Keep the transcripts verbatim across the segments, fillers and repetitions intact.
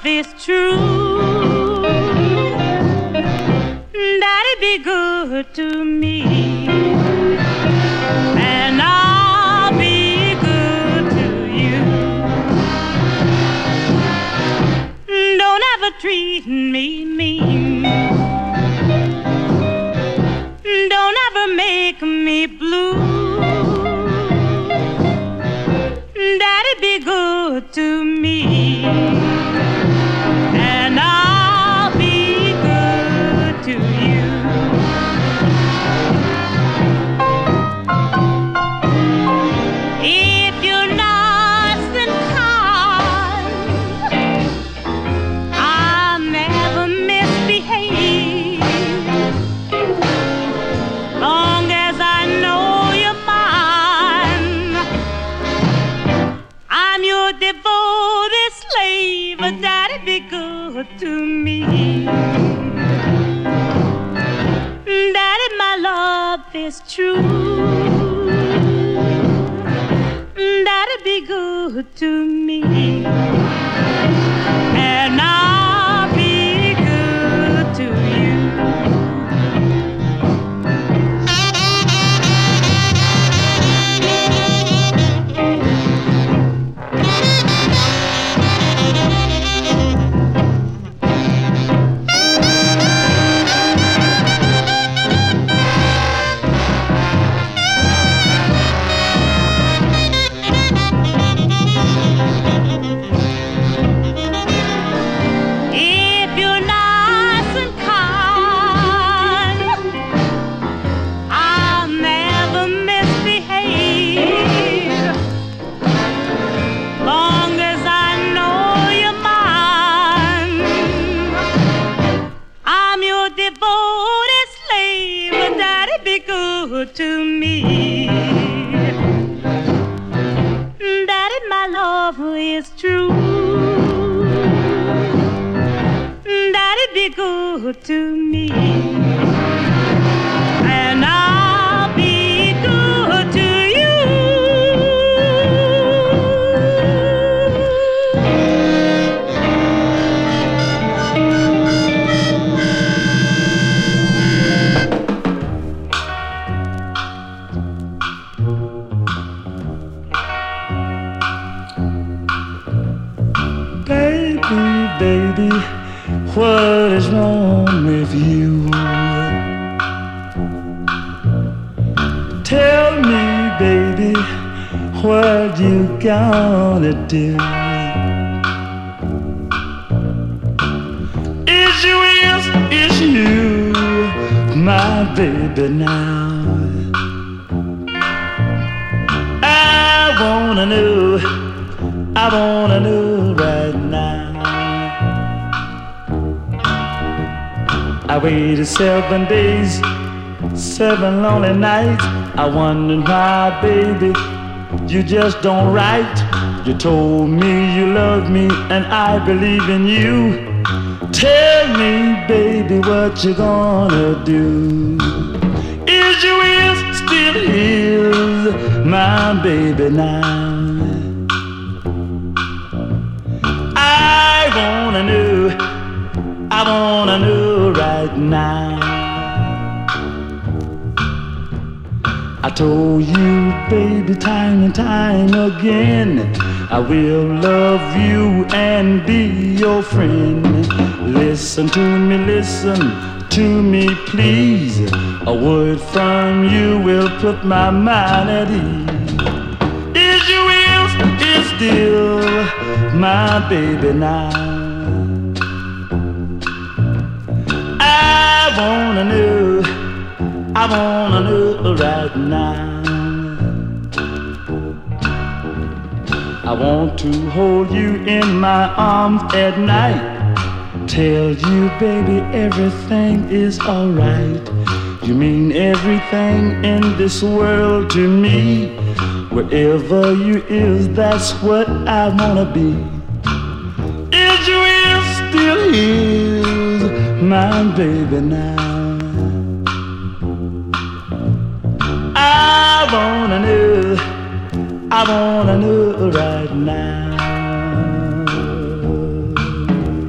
is true, Daddy, be good to me, and I'll be good to you. Don't ever treat me mean, don't ever make me blue. Daddy, be good to me, and I'll be good to you. If you're nice and kind, I'll never misbehave. Long as I know you're mine, I'm your devoted slave. Daddy, be good to me. Daddy, my love is true. Daddy, be good to me, and I'll be good to you. To me, Daddy, my love is true. Daddy, be good to me, and I'll be good to you. Baby, what is wrong with you? Tell me, baby, what you gonna do? Is you, is, is you, my baby now? I wanna know, I wanna know right now. I waited seven days, seven lonely nights. I wondered why, baby, you just don't write. You told me you love me and I believe in you. Tell me, baby, what you gonna do? Is you is still is my baby now? I wanna know, I wanna know right now. I told you, baby, time and time again, I will love you and be your friend. Listen to me, listen to me, please. A word from you will put my mind at ease. Is you is, is still my baby now? I wanna know, I wanna know right now. I want to hold you in my arms at night. Tell you, baby, everything is alright. You mean everything in this world to me. Wherever you is, that's what I wanna be. Is you is, still is my baby now? I wanna know, I wanna know right now.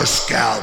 your scalp.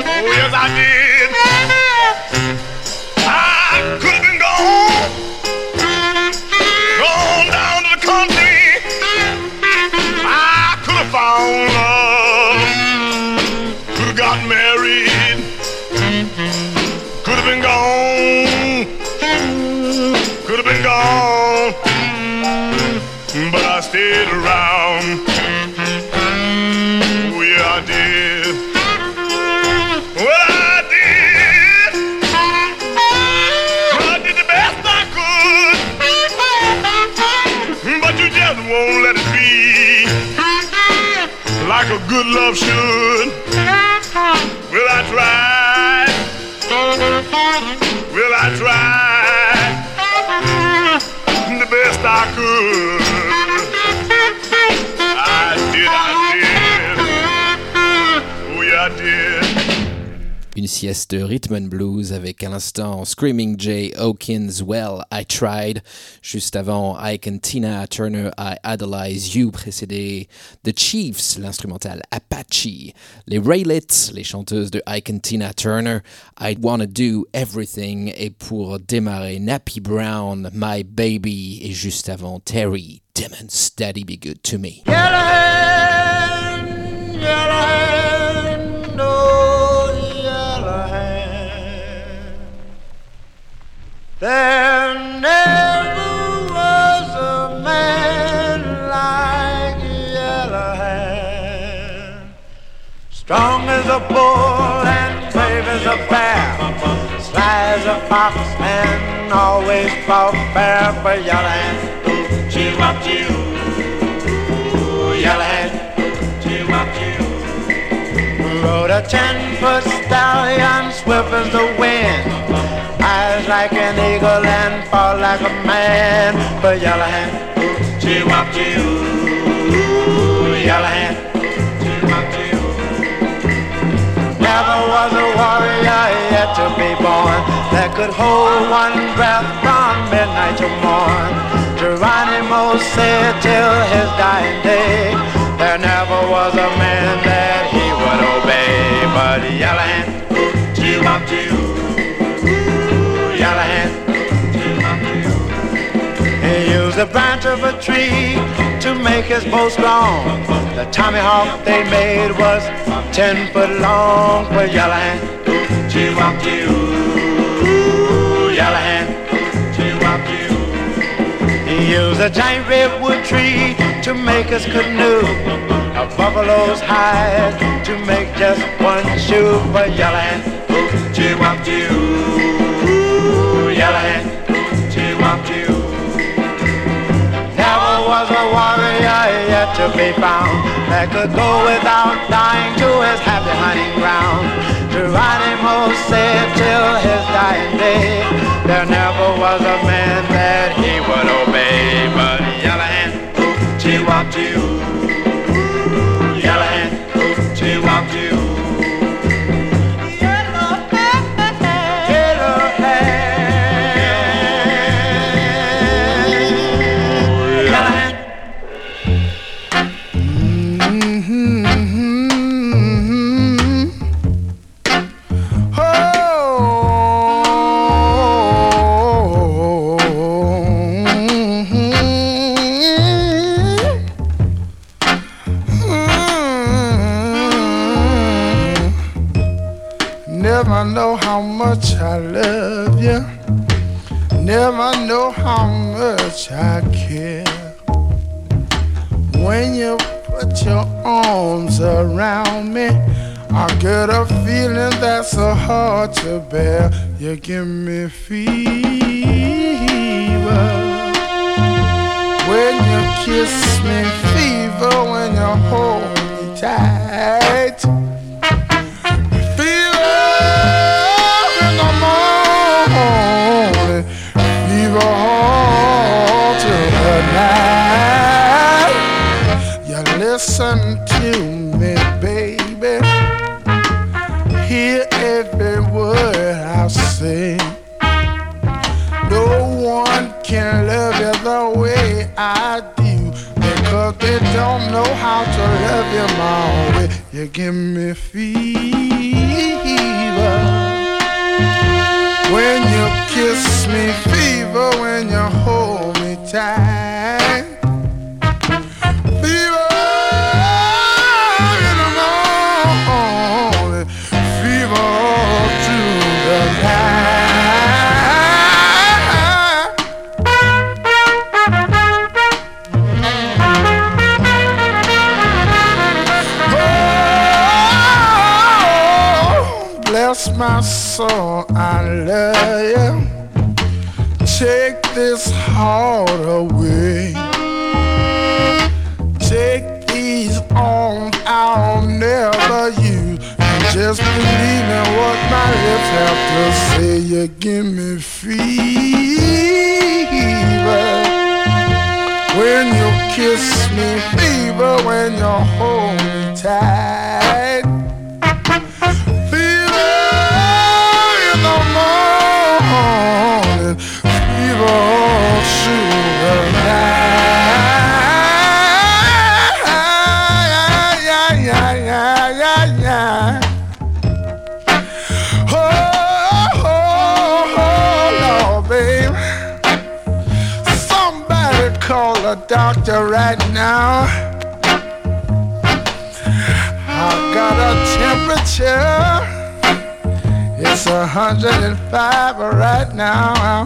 I could have been gone. found love, could have got married, could have been gone, could have been gone, but I stayed around. Oh yeah, I did. Well, I did. Well, I did the best I could, but you just won't let it be like a good love should. Well, I tried. Well, I tried the best I could. I did, I did. Oh, yeah, I did. Une sieste de rhythm and blues avec à l'instant Screaming Jay Hawkins, Well, I Tried. Juste avant, Ike and Tina Turner, I Idolize You, précédé The Chiefs, l'instrumental Apache. Les Raelettes, les chanteuses de Ike and Tina Turner, I Wanna Do Everything. Et pour démarrer, Nappy Brown, My Baby. Et juste avant, Terry Timmons, Daddy Be Good To Me. Yellowhand, Yellowhand, oh Yellowhand. There never was a man like Yellowhand. Strong as a bull and brave as a bear, sly as a fox and always fought fair. But Yellowhand, Chee-wop-chee-oo, Yellowhand, Chee-wop-chee-oo. Rode a ten-foot stallion, swift as the wind, eyes like an eagle and fought like a man. But Yellowhand, Chee-wop-chee-oo, Yellowhand, Chee-wop-chee-oo. Never was a warrior yet to be born that could hold one breath from midnight to morn. Geronimo said till his dying day, there never was a man that he would obey. But Yellowhand, Chee-wop-chee-oo, Yellowhand, Chee-wop-chee-oo. He used the branch of a tree to make his bow strong. The tomahawk they made was ten foot long. But Yellowhand, Chee-wop-chee-oo, Yellowhand, Chee-wop-chee-oo. He used a giant redwood tree to make his canoe, a buffalo's hide to make just one shoe. But Yellowhand, Chee-wop-chee-oo, Yellowhand, Chee-wop-chee-oo. Never was a warrior yet to be found that could go without dying to his happy hunting ground. Geronimo said till his dying day, there never was a man that he would obey. But Yellowhand, Chee-wop-chee-oo, Yellowhand, Chee-wop-chee-oo. Never know how much I love you. Never know how much I care. When you put your arms around me, I get a feeling that's so hard to bear. You give me fever when you kiss me, fever when you hold me tight. Listen to me, baby. Hear every word I say. No one can love you the way I do, because they don't know how to love you my way. You give me fever when you kiss me, fever when you hold me tight. Fever bless my soul, I love you. Take this heart away. Take these arms I'll never use. And just believe in what my lips have to say. You give me fever when you kiss me, fever when you hold me tight. Fever in the morning, fever all through the night. Yeah, yeah, yeah, yeah, yeah. Oh, oh, oh, Lord, babe. Somebody call a doctor right now. I've got a temperature. It's a hundred and five right now.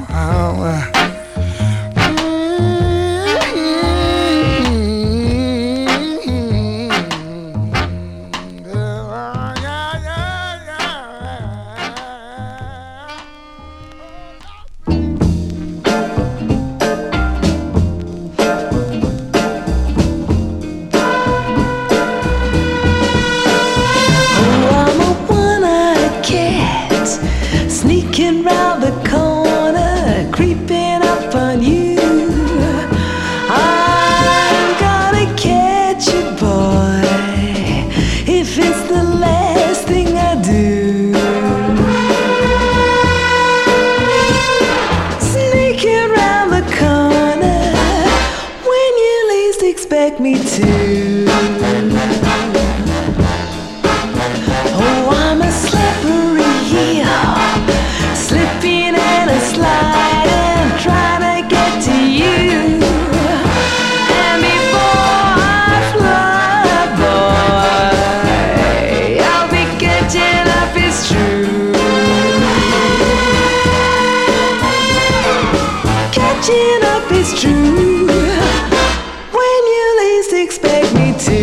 Sneaking round the corner, creeping up on you. I'm gonna catch you, boy, if it's the last thing I do. Sneaking round the corner when you least expect me to. Oh, I'm a slippery heel, slipping and a sliding, trying to get to you. And before I fly, boy, I'll be catching up, it's true. Catching up, it's true, when you least expect me to.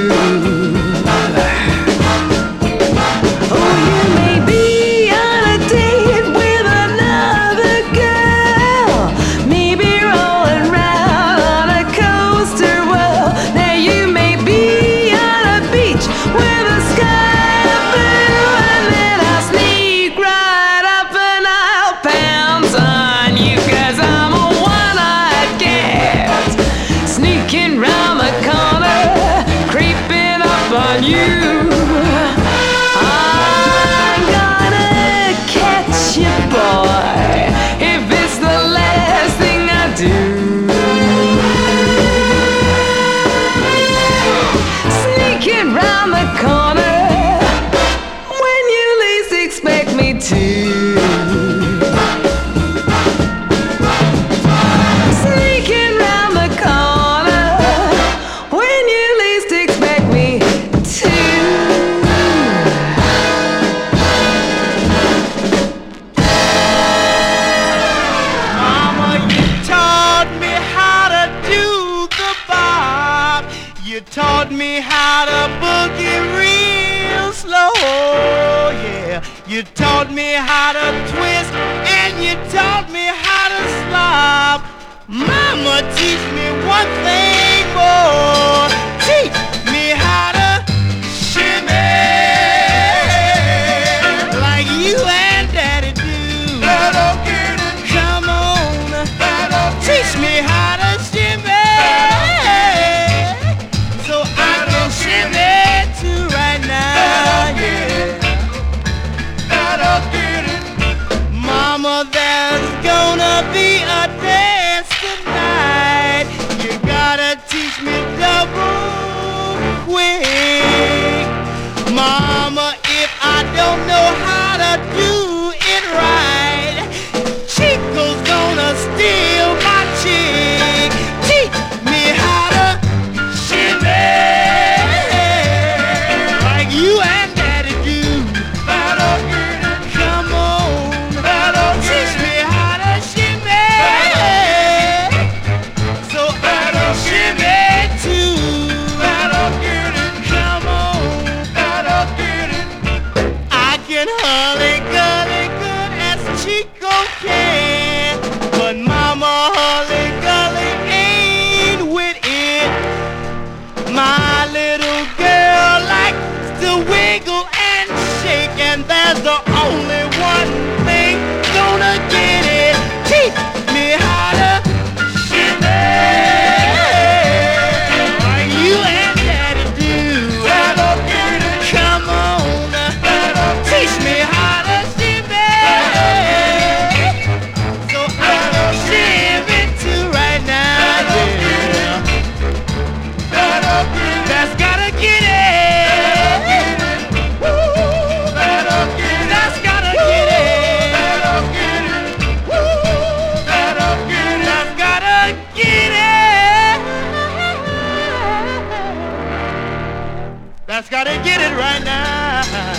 You taught me how to twist and you taught me how to slop. Mama, teach me one thing more. Teach me how to shimmy like you and Daddy do. Come on, teach me how to shimmy so I can shimmy too right now, yeah. Mama, there's gonna be a dance tonight. You gotta teach me double just gotta get it right now.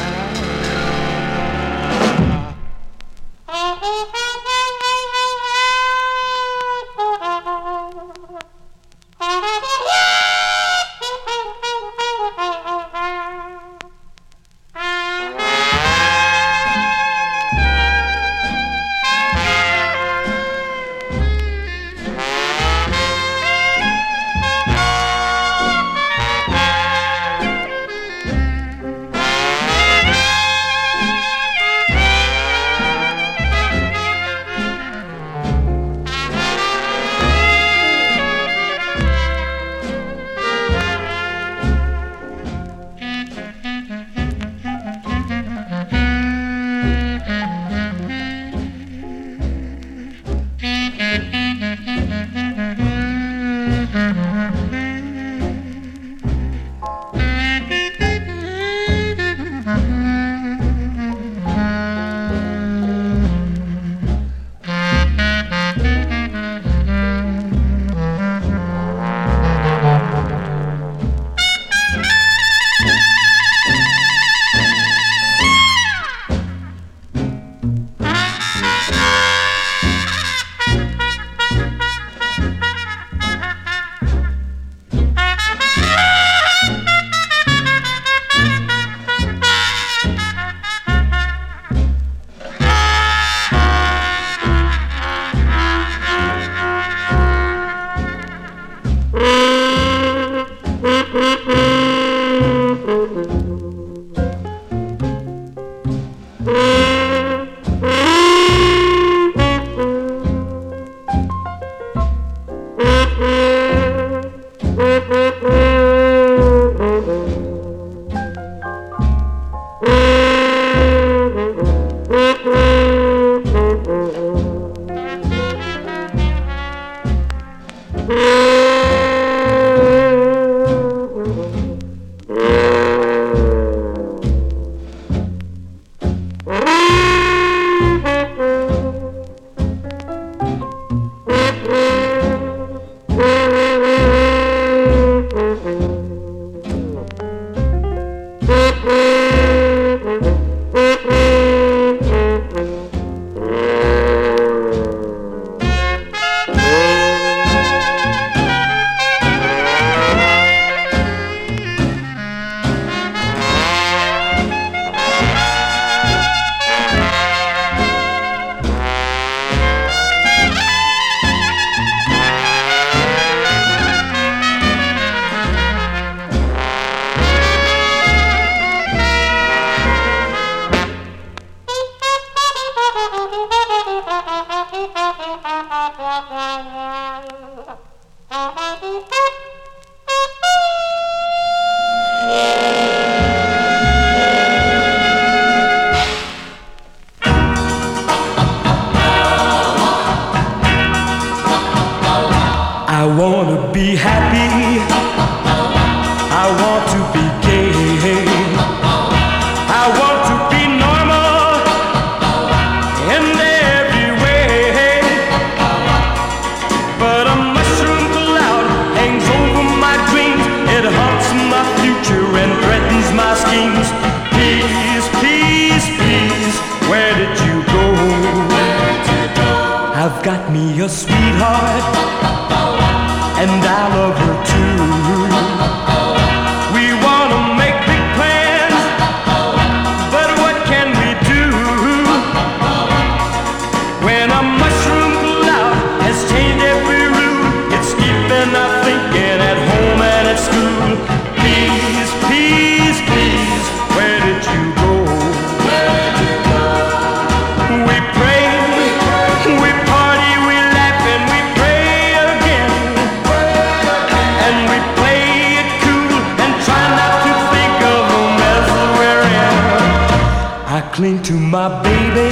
Cling to my baby,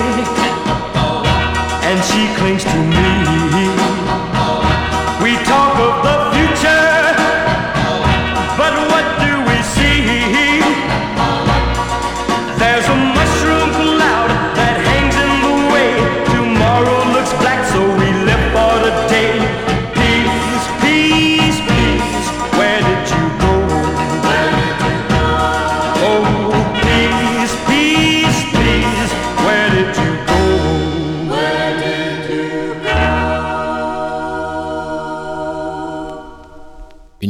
and she clings to me. We talk of the future, but what do we see? There's a mushroom cloud that hangs in the way. Tomorrow looks black, so we live for the day. Peace, peace, peace, where did you go? Where did you go?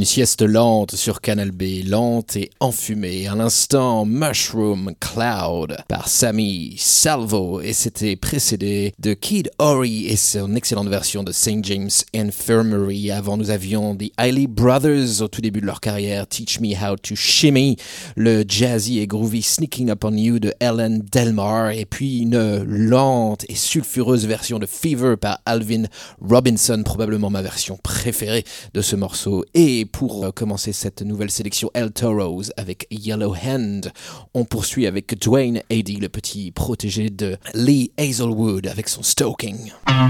Une sieste lente sur Canal B, lente et enfumée. À l'instant, Mushroom Cloud par Sammy Salvo, et c'était précédé de Kid Ory et son excellente version de Saint James Infirmary. Avant, nous avions The Isley Brothers au tout début de leur carrière, Teach Me How to Shimmy, le jazzy et groovy Sneaking Up on You de Ellen Delmar, et puis une lente et sulfureuse version de Fever par Alvin Robinson, probablement ma version préférée de ce morceau. Et pour commencer cette nouvelle sélection El Toros avec Yellow Hand, on poursuit avec Dwayne Eddy, le petit protégé de Lee Hazelwood, avec son Stoking.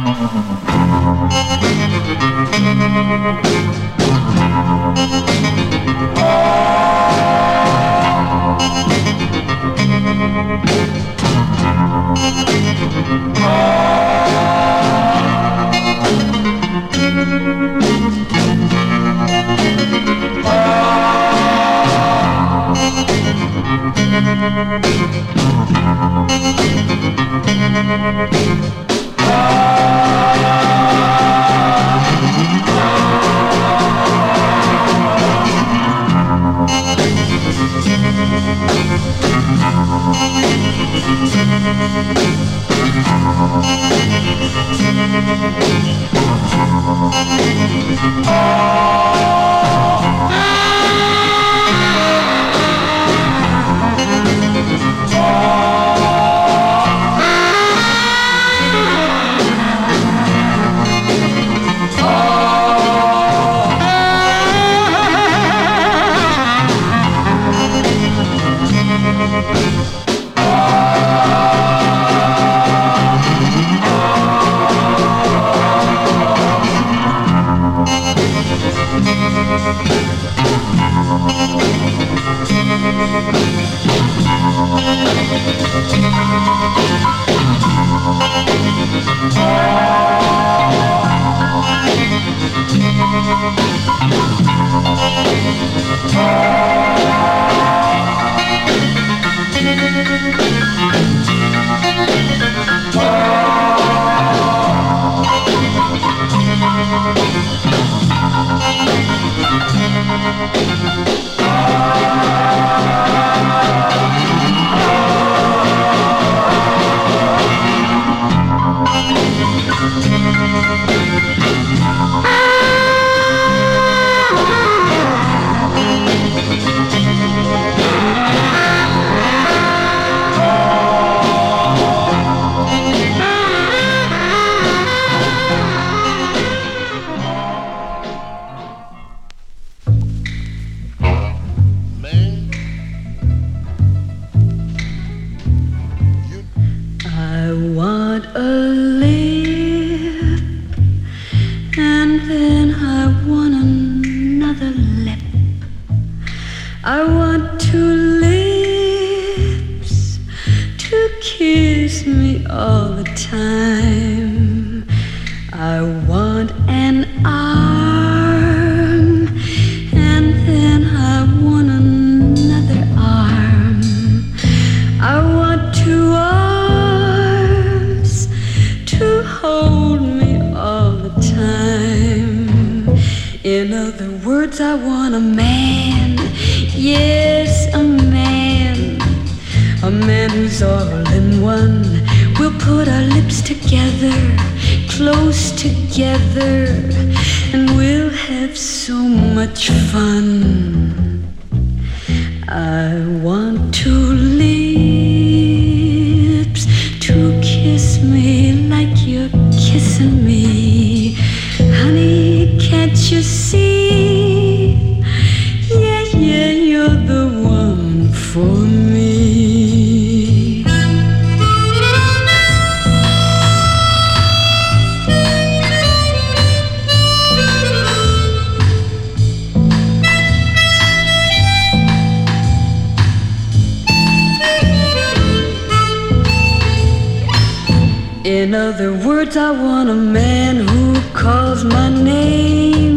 In other words, I want a man who calls my name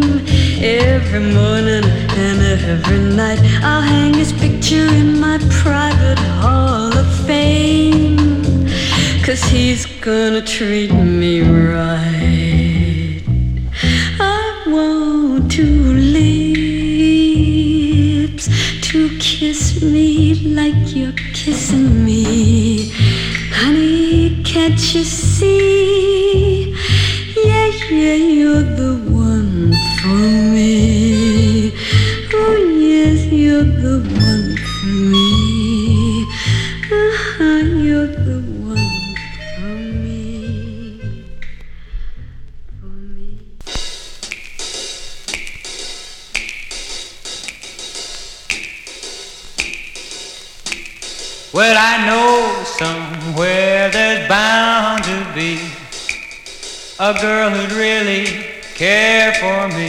every morning and every night. I'll hang his picture in my private hall of fame, 'cause he's gonna treat me right. I want to live me like you're kissing me. Honey, can't you see? Yeah, yeah, you're the one for me. Oh, yes, you're the one for me. Uh-huh, you're the one for me. For me. Well, I know somewhere there's bound to be a girl who'd really care for me,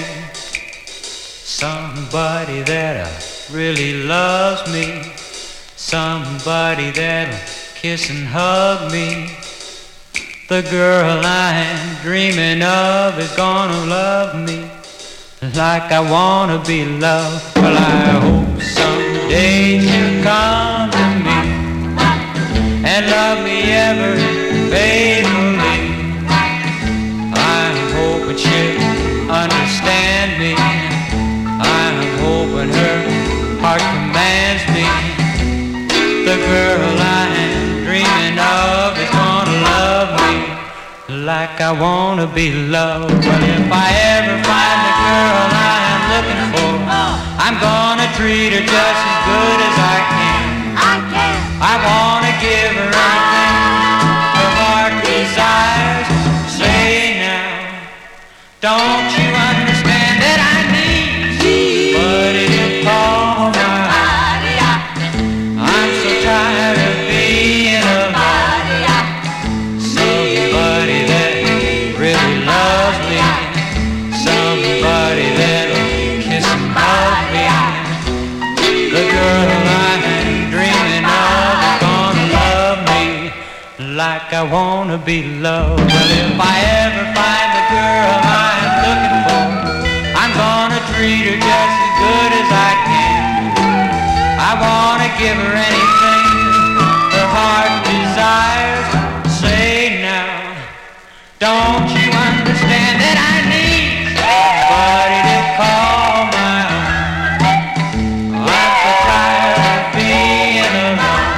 somebody that really loves me, somebody that'll kiss and hug me. The girl I'm dreaming of is gonna love me like I wanna be loved. Well, I hope someday she'll come to me and love me ever faithfully. I'm hoping she'll understand me. I'm hoping her heart commands me. The girl I'm dreaming of is gonna love me like I wanna be loved. Well, if I ever find the girl I'm looking for, I'm gonna treat her just as good as I can. I can. I wanna give her anything her heart desires. Say now, don't you understand that I need somebody to call my own? I'm so tired of being alone. Somebody that really loves me, somebody that'll kiss and hug me. The girl I'm dreaming of is gonna love me like I wanna be loved. Well, if I ever find the girl I'm looking for, I'm gonna treat her just as good as I can. I wanna give her anything her heart desires. Say now, don't you understand that I need somebody to call my own? I'm so tired of being alone.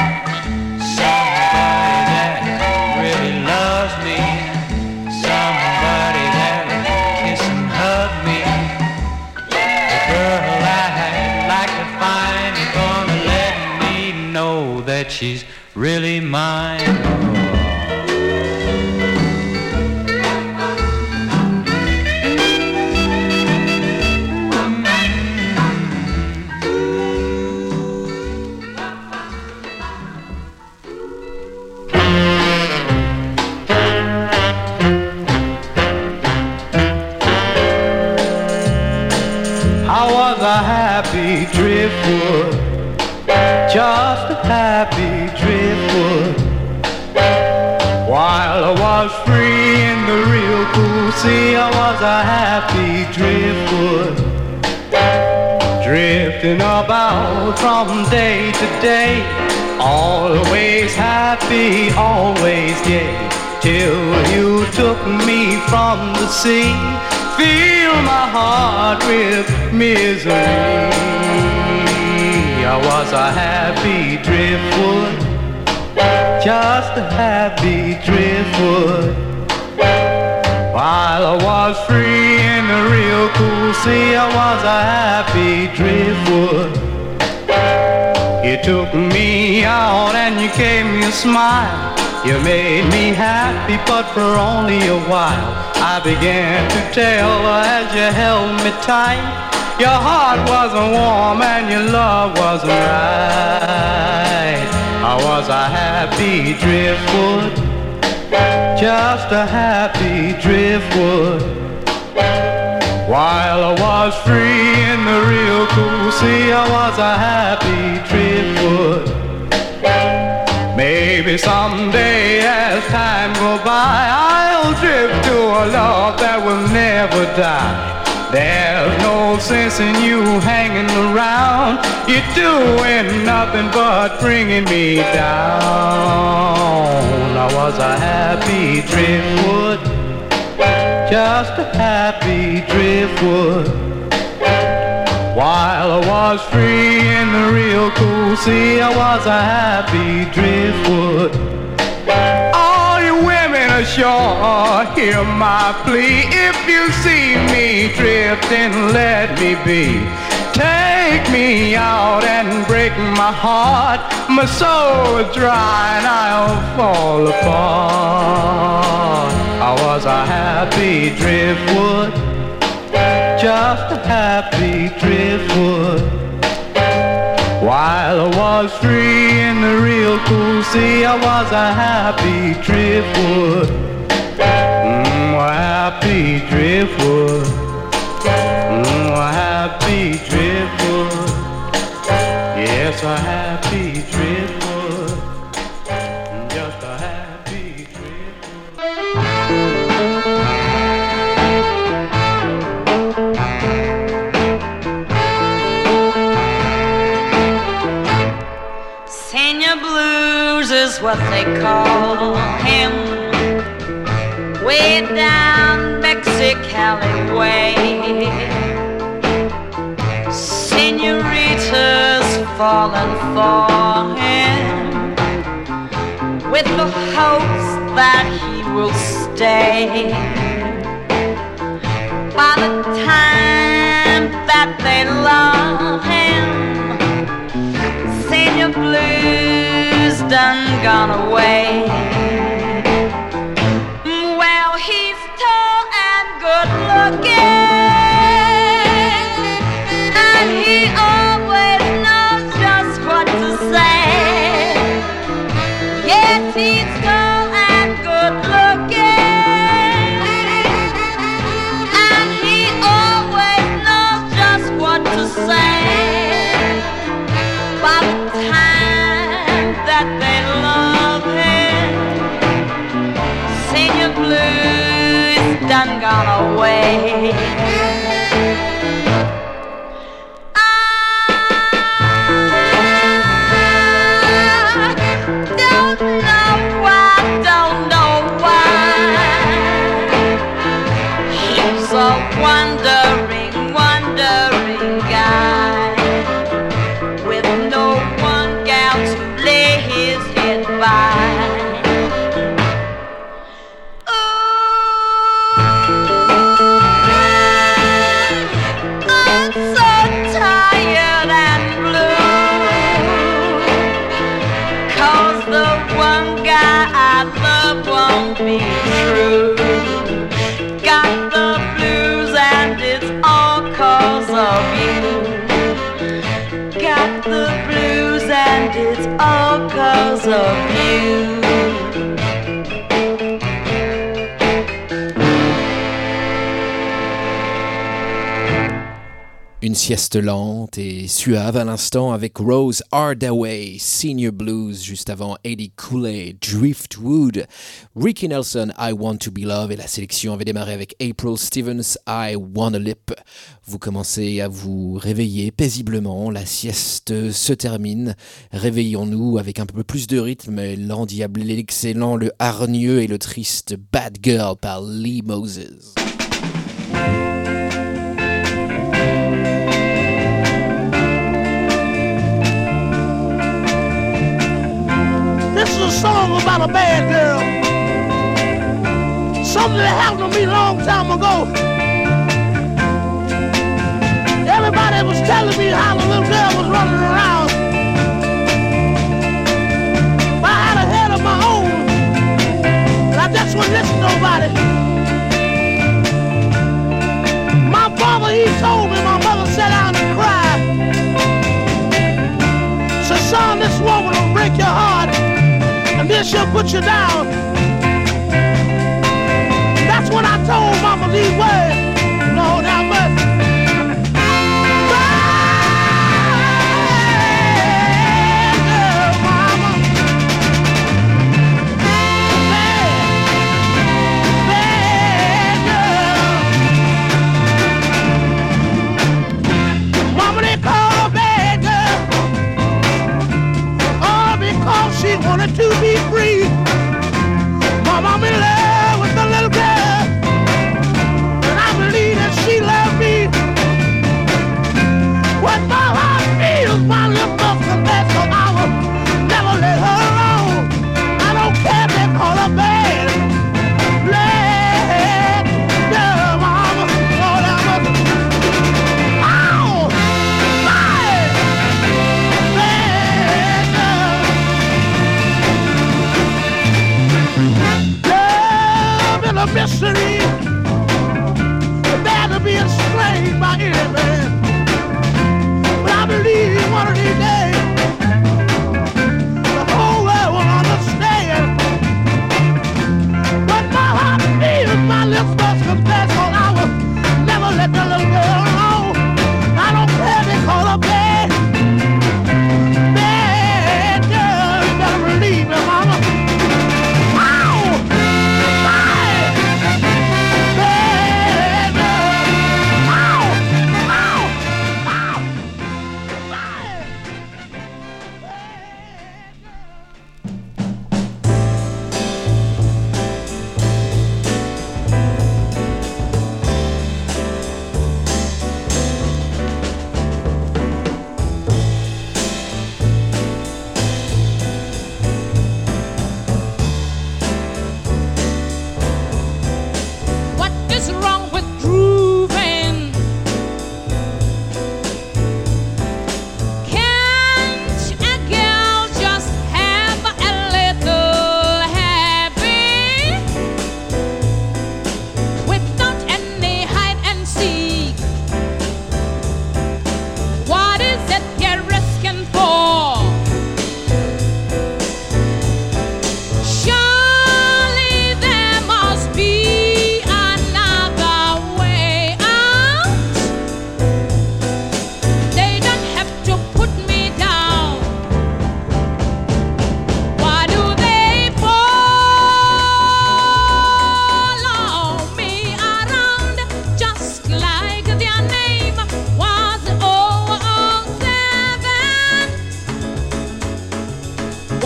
Somebody that really loves me, somebody that'll kiss and hug me. The girl I'd like to find is gonna let me know that she's really mine. I was a happy driftwood, just a happy driftwood. While I was free in the real cool sea, I was a happy driftwood, drifting about from day to day, always happy, always gay, till you took me from the sea. Fill my heart with misery. I was a happy driftwood, just a happy driftwood. While I was free in the real cool sea, I was a happy driftwood. You took me out and you gave me a smile. You made me happy, but for only a while. I began to tell as you held me tight. Your heart wasn't warm and your love wasn't right. I was a happy driftwood, just a happy driftwood. While I was free in the real cool sea, I was a happy driftwood. Maybe someday as time go by, I'll drift to a love that will never die. There's no sense in you hanging around. You're doing nothing but bringing me down. I was a happy driftwood, just a happy driftwood. While I was free in the real cool sea, I was a happy driftwood. All you women ashore, hear my plea. If you see me drifting, let me be. Take me out and break my heart. My soul is dry and I'll fall apart. I was a happy driftwood, just a happy driftwood. While I was free in the real cool sea, I was a happy driftwood. Mm, a happy driftwood. Mm, a happy driftwood. Yes, a happy driftwood. Just a happy Senior Blues is what they call him, way down Mexicali way. Senoritas falling for him, with the hopes that he will stay. By the time that they love him, Senior Blues done gone away. Well, he's tall and good looking, and he always knows just what to say. Yes, he's tall and good looking, and he always knows just what to say. By the time that they love him, Senior Blues done gone away. Wondering, wondering guy with no one gal to lay his head by. Ooh, I'm so tired and blue, 'cause the one guy I love won't be true. Got the blues and it's all 'cause of you. Got the blues and it's all 'cause of you. Une sieste lente et suave à l'instant avec Rose Hardaway, Senior Blues, juste avant Eddie Cooley, Driftwood, Ricky Nelson, I Want to Be Loved, et la sélection avait démarré avec April Stevens, I Wanna Lip. Vous commencez à vous réveiller paisiblement, la sieste se termine, réveillons-nous avec un peu plus de rythme, l'endiablé, l'excellent, le hargneux et le triste Bad Girl par Lee Moses. This is a song about a bad girl. Something that happened to me a long time ago. Everybody was telling me how the little girl was running around. But I had a head of my own, and I just wouldn't listen to nobody. My father, he told me, my mother sat down and cried. Said, son, this woman will break your heart, and then she'll put you down. That's when I told mama these words. Lord have mercy. Bad girl, mama. Bad, bad girl. Mama, they call her bad girl. All because she wanted to be free. Mama, I'm in love with the little girl, and I believe that she loved me.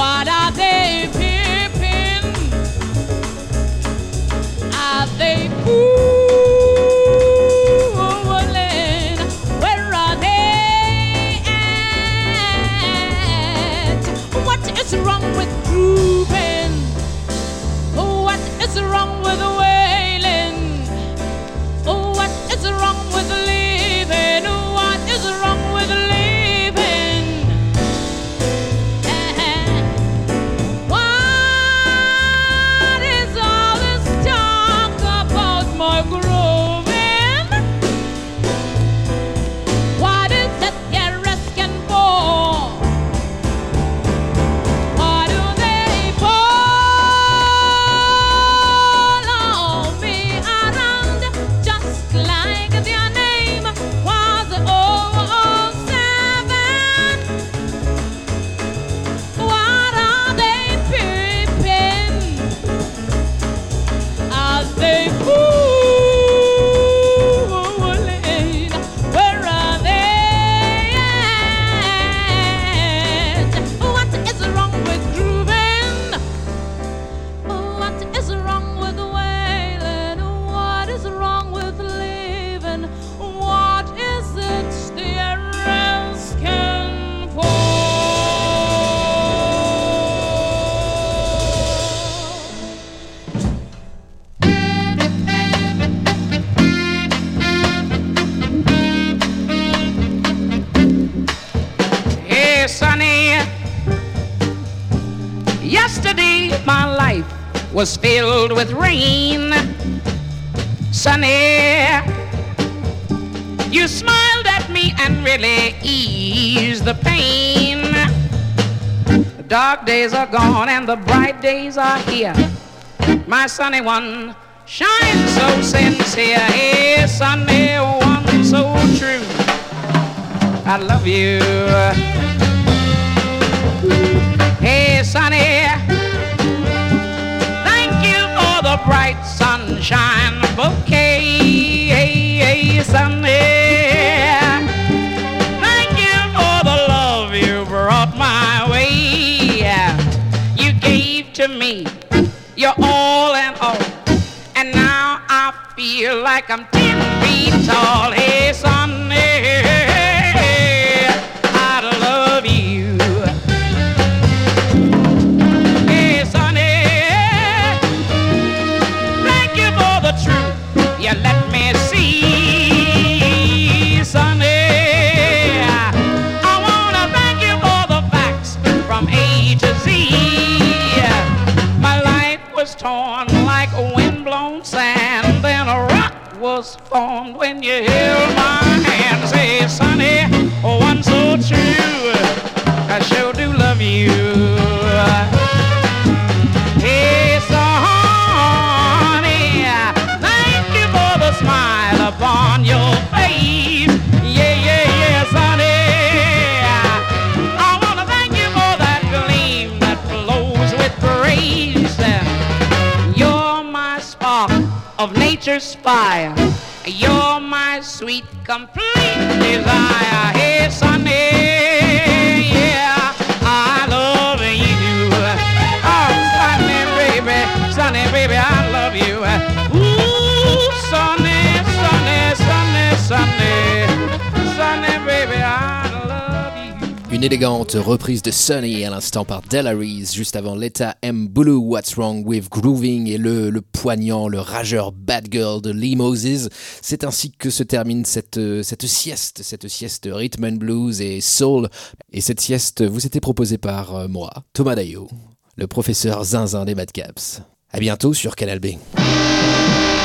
What are they peeping? Are they fooling? Where are they at? What is wrong with grooving? What is wrong with wailing? What is wrong with leaving? What is wrong with leaving? What is all this talk about my grooving? What is it you're asking for? Why do they follow me around just like their name was oh oh seven? What are they peeping? Are they fooling? Where are they at? What is wrong with grooving? What is wrong with wailing? What is wrong with leaving? What is it they're asking for? Hey, Sonny, yesterday my life was filled with rain. Sonny, you smiled at me and really eased the pain. The dark days are gone and the bright days are here. My sunny one shines so sincere. Hey, Sunny one so true. I love you. Hey, Sonny, thank you for the bright sunshine bouquet. Hey, hey, Sonny, thank you for the love you brought my way. You gave to me your all and all, and now I feel like I'm ten feet tall. Hey, Sonny, I love you. Hey, Sonny, thank you for the truth you let me see. Sonny, I wanna thank you for the facts from A to Z. My life was torn like windblown sand, then a rock was formed when you held my hand. Say, Sonny, one so true, I sure do love you. Hey, Sonny, thank you for the smile upon your face. Yeah, yeah, yeah, Sonny, I wanna thank you for that gleam that flows with praise. You're my spark of nature's fire. You're my sweet, complete desire. Hey, Sonny, yeah, I love you. Oh, Sonny, baby, Sonny, baby, I love you. Ooh, Sonny, Sonny, Sonny, Sonny, Sonny, baby, I love you. Une élégante reprise de Sunny à l'instant par Della Reese, juste avant Letta M. Bulu, What's Wrong with Grooving, et le, le poignant, le rageur Bad Girl de Lee Moses. C'est ainsi que se termine cette, cette sieste, cette sieste rhythm and blues et soul. Et cette sieste vous était proposée par euh, moi, Thomas Daillot, le professeur zinzin des Madcaps. À bientôt sur Canal B.